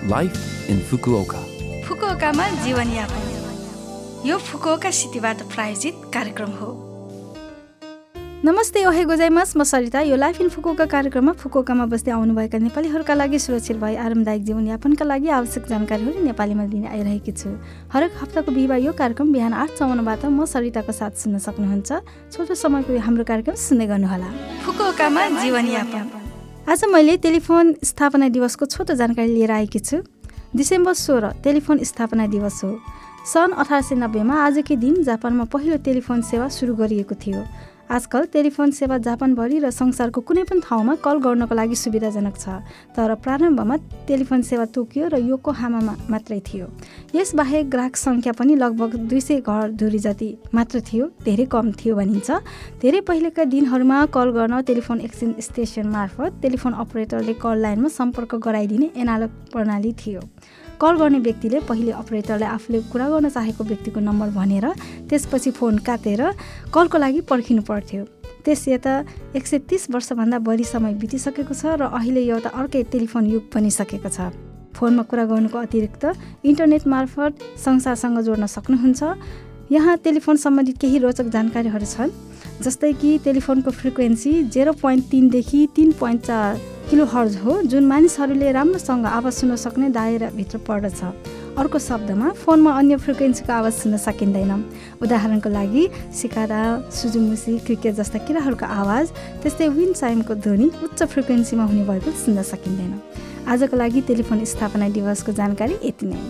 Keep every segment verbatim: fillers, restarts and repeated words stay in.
Life in Fukuoka. फुकुओकामा जीवनयापन यो Fukuoka सिटीबाट प्रायोजित कार्यक्रम हो। नमस्ते, ओहे गोजाइमास, म सरिता। यो लाइफ इन फुकुओका कार्यक्रममा फुकुओकामा बस्दै आउनुभएका नेपालीहरूका लागि सुरक्षित भई आरामदायक जीवनयापनका लागि आवश्यक जानकारीहरू नेपालीमा दिने आइरहेकी छु। हरेक हप्ताको बिहिबार यो कार्यक्रम बिहान आठ चौवन्नबाट म सरिताको साथ सुन्न सक्नुहुन्छ। छोटो समयको हाम्रो कार्यक्रम सुन्दै गर्नुहोला। फुकुओकामा जीवनयापन। आज मैले टेलिफोन स्थापना दिवसको छोटो जानकारी लिएर आएकी छु। डिसेम्बर सोह्र टेलिफोन स्थापना दिवस हो। सन् अठार सय नब्बेमा आजकै दिन जापानमा पहिलो टेलिफोन सेवा सुरु गरिएको थियो। आजकल टेलिफोन सेवा जापानभरि र संसारको कुनै पनि ठाउँमा कल गर्नको लागि सुविधाजनक छ, तर प्रारम्भमा टेलिफोन सेवा टोकियो र योकोहामामा मात्रै थियो। यसबाहेक ग्राहक सङ्ख्या पनि लगभग दुई सय घर धुरी जति मात्र थियो, धेरै कम थियो भनिन्छ। धेरै पहिलेका दिनहरूमा कल गर्न टेलिफोन एक्सचेन्ज स्टेसन मार्फत टेलिफोन अपरेटरले कल लाइनमा सम्पर्क गराइदिने एनालग प्रणाली थियो। कल गर्ने व्यक्तिले पहिले अपरेटरलाई आफूले कुरा गर्न चाहेको व्यक्तिको नम्बर भनेर त्यसपछि फोन काटेर कलको लागि पर्खिनु पर्थ्यो। त्यस यता एक सय तीस वर्षभन्दा बढी समय बितिसकेको छ र अहिले एउटा अर्कै टेलिफोन युग बनिसकेको छ। फोनमा कुरा गर्नुको अतिरिक्त इन्टरनेट मार्फत संसारसँग जोड्न सक्नुहुन्छ। यहाँ टेलिफोन सम्बन्धित केही रोचक जानकारीहरू छन्, जस्तै कि टेलिफोनको फ्रिक्वेन्सी जेरो पोइन्ट तिनदेखि तिन पोइन्ट चार किलो हर्ज हो, जुन मानिसहरूले राम्रोसँग आवाज सुन्न सक्ने दायराभित्र पर्दछ। अर्को शब्दमा फोनमा अन्य फ्रिक्वेन्सीको आवाज सुन्न सकिँदैन। उदाहरणको लागि सिकारा, सुजुमुसी, क्रिकेट जस्ता किराहरूको आवाज, त्यस्तै विन्ड चाइमको ध्वनि उच्च फ्रिक्वेन्सीमा हुने भएको सुन्न सकिँदैन। आजको लागि टेलिफोन स्थापना दिवसको जानकारी यति नै।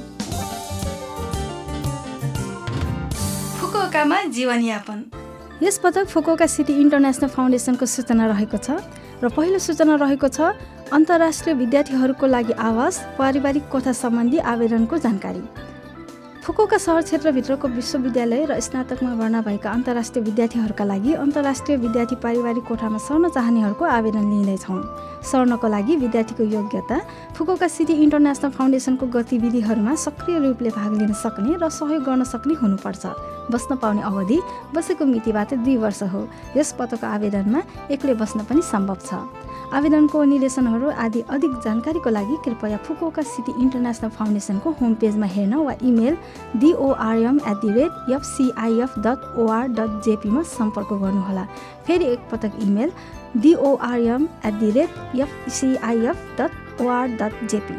फुकुओकामा जीवनयापन। यसपटक फुकुओका सिटी इन्टरनेसनल फाउन्डेसनको सूचना रहेको छ र पहिलो सूचना रहेको छ अन्तर्राष्ट्रिय विद्यार्थीहरूको लागि आवास पारिवारिक कोठा सम्बन्धी आवेदनको जानकारी। फुकुओका शहर क्षेत्रभित्रको विश्वविद्यालय र स्नातकमा भर्ना भएका अन्तर्राष्ट्रिय विद्यार्थीहरूका लागि अन्तर्राष्ट्रिय विद्यार्थी पारिवारिक कोठामा सर्न चाहनेहरूको आवेदन लिँदैछौँ। सर्नको लागि विद्यार्थीको योग्यता, फुकुओका सिटी इन्टरनेसनल फाउन्डेसनको गतिविधिहरूमा सक्रिय रूपले भाग लिन सक्ने र सहयोग गर्न सक्ने हुनुपर्छ। बस्न पाउने अवधि बसेको मितिबाट दुई वर्ष हो। यस पदको आवेदनमा एक्लै बस्न पनि सम्भव छ। आवेदनको निर्देशनहरू आदि अधिक जानकारीको लागि कृपया फुकुओका सिटी इन्टरनेसनल फाउन्डेसनको होम पेजमा हेर्न वा email डीओआरएम at the rate एफसिआइएफ dot OR dot जेपीमा सम्पर्क गर्नुहोला। फेरि एकपटक email डीओआरएम at the rate एफसिआइएफ dot OR dot JP.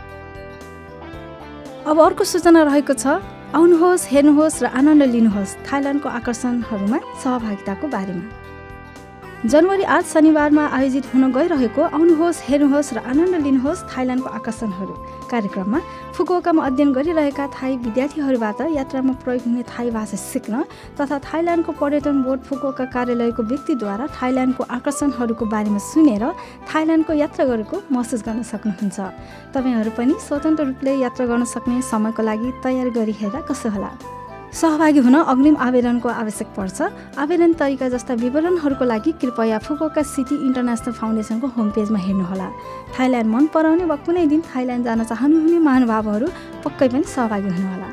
अब अर्को सूचना रहेको छ, आउनुहोस्, हेर्नुहोस् र आनन्द लिनुहोस् थाइल्यान्डको आकर्षणहरूमा सहभागिताको बारेमा। जनवरी आठ शनिबारमा आयोजित हुन गइरहेको आउनुहोस्, हेर्नुहोस् र आनन्द लिनुहोस् थाइल्यान्डको आकर्षणहरू कार्यक्रममा फुकुओकामा अध्ययन गरिरहेका थाई विद्यार्थीहरूबाट यात्रामा प्रयोग हुने थाई भाषा सिक्न तथा थाइल्यान्डको पर्यटन बोर्ड फुकुओका कार्यालयको व्यक्तिद्वारा थाइल्यान्डको आकर्षणहरूको बारेमा सुनेर थाइल्यान्डको यात्रा गरेको महसुस गर्न सक्नुहुन्छ। तपाईँहरू पनि स्वतन्त्र रूपले यात्रा गर्न सक्ने समयको लागि तयारी गरिहेर्दा कसो होला। सहभागी हुन अग्रिम आवेदनको आवश्यक पर्छ। आवेदन तरिका जस्ता विवरणहरूको लागि कृपया फुकुओका सिटी इन्टरनेसनल फाउन्डेसनको होम पेजमा हेर्नुहोला। थाइल्यान्ड मन पराउने वा कुनै दिन थाइल्यान्ड जान चाहनुहुने महानुभावहरू पक्कै पनि सहभागी हुनुहोला।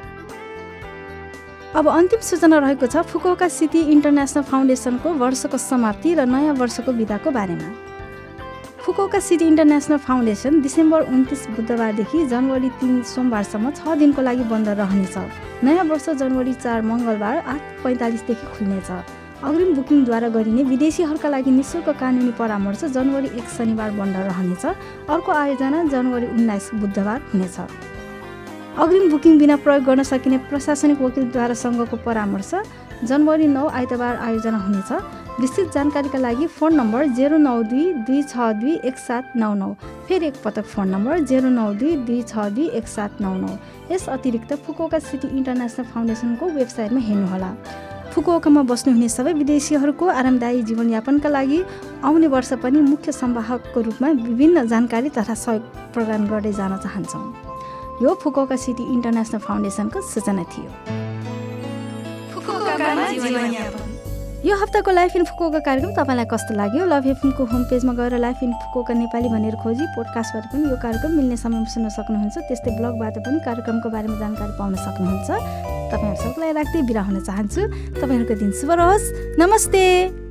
अब अन्तिम सूचना रहेको छ फुकुओका सिटी इन्टरनेसनल फाउन्डेसनको वर्षको समाप्ति र नयाँ वर्षको बिदाको बारेमा। Fukuoka city international foundation December उन्तिस बुधबारदेखि जनवरी तीन सोमबारसम्म छ दिनको लागि बन्द रहनेछ। नयाँ वर्ष जनवरी चार मङ्गलबार आठ पैँतालिसदेखि खुल्नेछ। अग्रिम बुकिङद्वारा गरिने विदेशीहरूका लागि निःशुल्क कानुनी परामर्श जनवरी एक शनिबार बन्द रहनेछ। अर्को आयोजना जनवरी उन्नाइस बुधबार हुनेछ। अग्रिम बुकिङ बिना प्रयोग गर्न सकिने प्रशासनिक वकिलद्वारा सँगको परामर्श जनवरी नौ आइतबार आयोजना हुनेछ। विस्तृत जानकारीका लागि फोन नम्बर जेरो नौ दुई दुई छ दुई एक सात नौ नौ। फेरि एकपटक फोन नम्बर जेरो नौ दुई दुई छ दुई एक सात नौ नौ। यस अतिरिक्त फुकुओका सिटी इन्टरनेसनल फाउन्डेसनको वेबसाइटमा हेर्नुहोला। फुकुओकामा बस्नुहुने सबै विदेशीहरूको आरामदायी जीवनयापनका लागि आउने वर्ष पनि मुख्य संवाहकको रूपमा विभिन्न जानकारी तथा सहयोग प्रदान गर्दै जान चाहन्छौँ। यो फुकुओका सिटी इन्टरनेसनल फाउन्डेसनको सूचना थियो। यो हप्ताको लाइफ इन फुकुओका कार्यक्रम तपाईँलाई कस्तो लाग्यो? लभ एफएमको होम पेजमा गएर लाइफ इन फुकुओका नेपाली भनेर खोजी पोडकास्टबाट पनि यो कार्यक्रम मिल्ने समयमा सुन्न सक्नुहुन्छ। त्यस्तै ब्लगबाट पनि कार्यक्रमको बारेमा जानकारी पाउन सक्नुहुन्छ। तपाईँहरू सबैलाई राख्दै बिदा हुन चाहन्छु। तपाईँहरूको दिन शुभ रहोस्। नमस्ते।